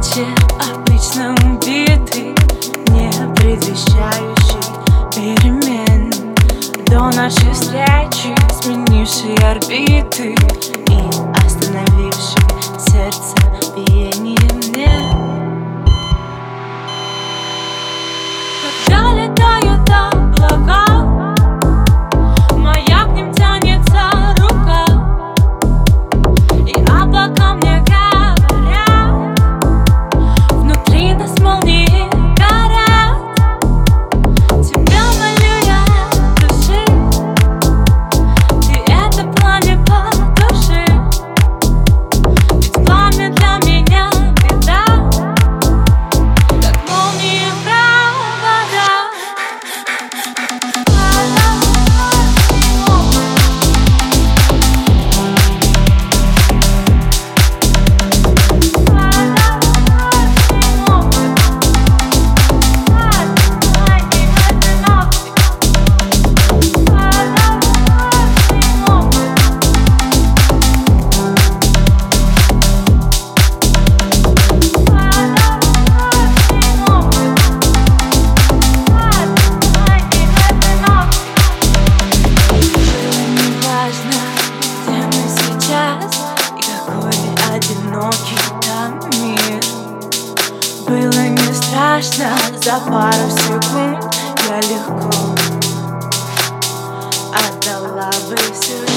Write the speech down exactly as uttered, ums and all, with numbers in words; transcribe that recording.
вечер обычно убитый, не предвещающий перемен, до нашей встречи сменивший орбиты и остановивший сердце биение мне. Когда летают облака, моя к ним тянется рука, и облака мне говорят, внутри нас молнии горят. Тебя молю я от души, ты это пламя потуши, ведь пламя для меня беда, как молнии провода. Одинокий там мир. Было не страшно, за пару секунд я легко отдала бы все.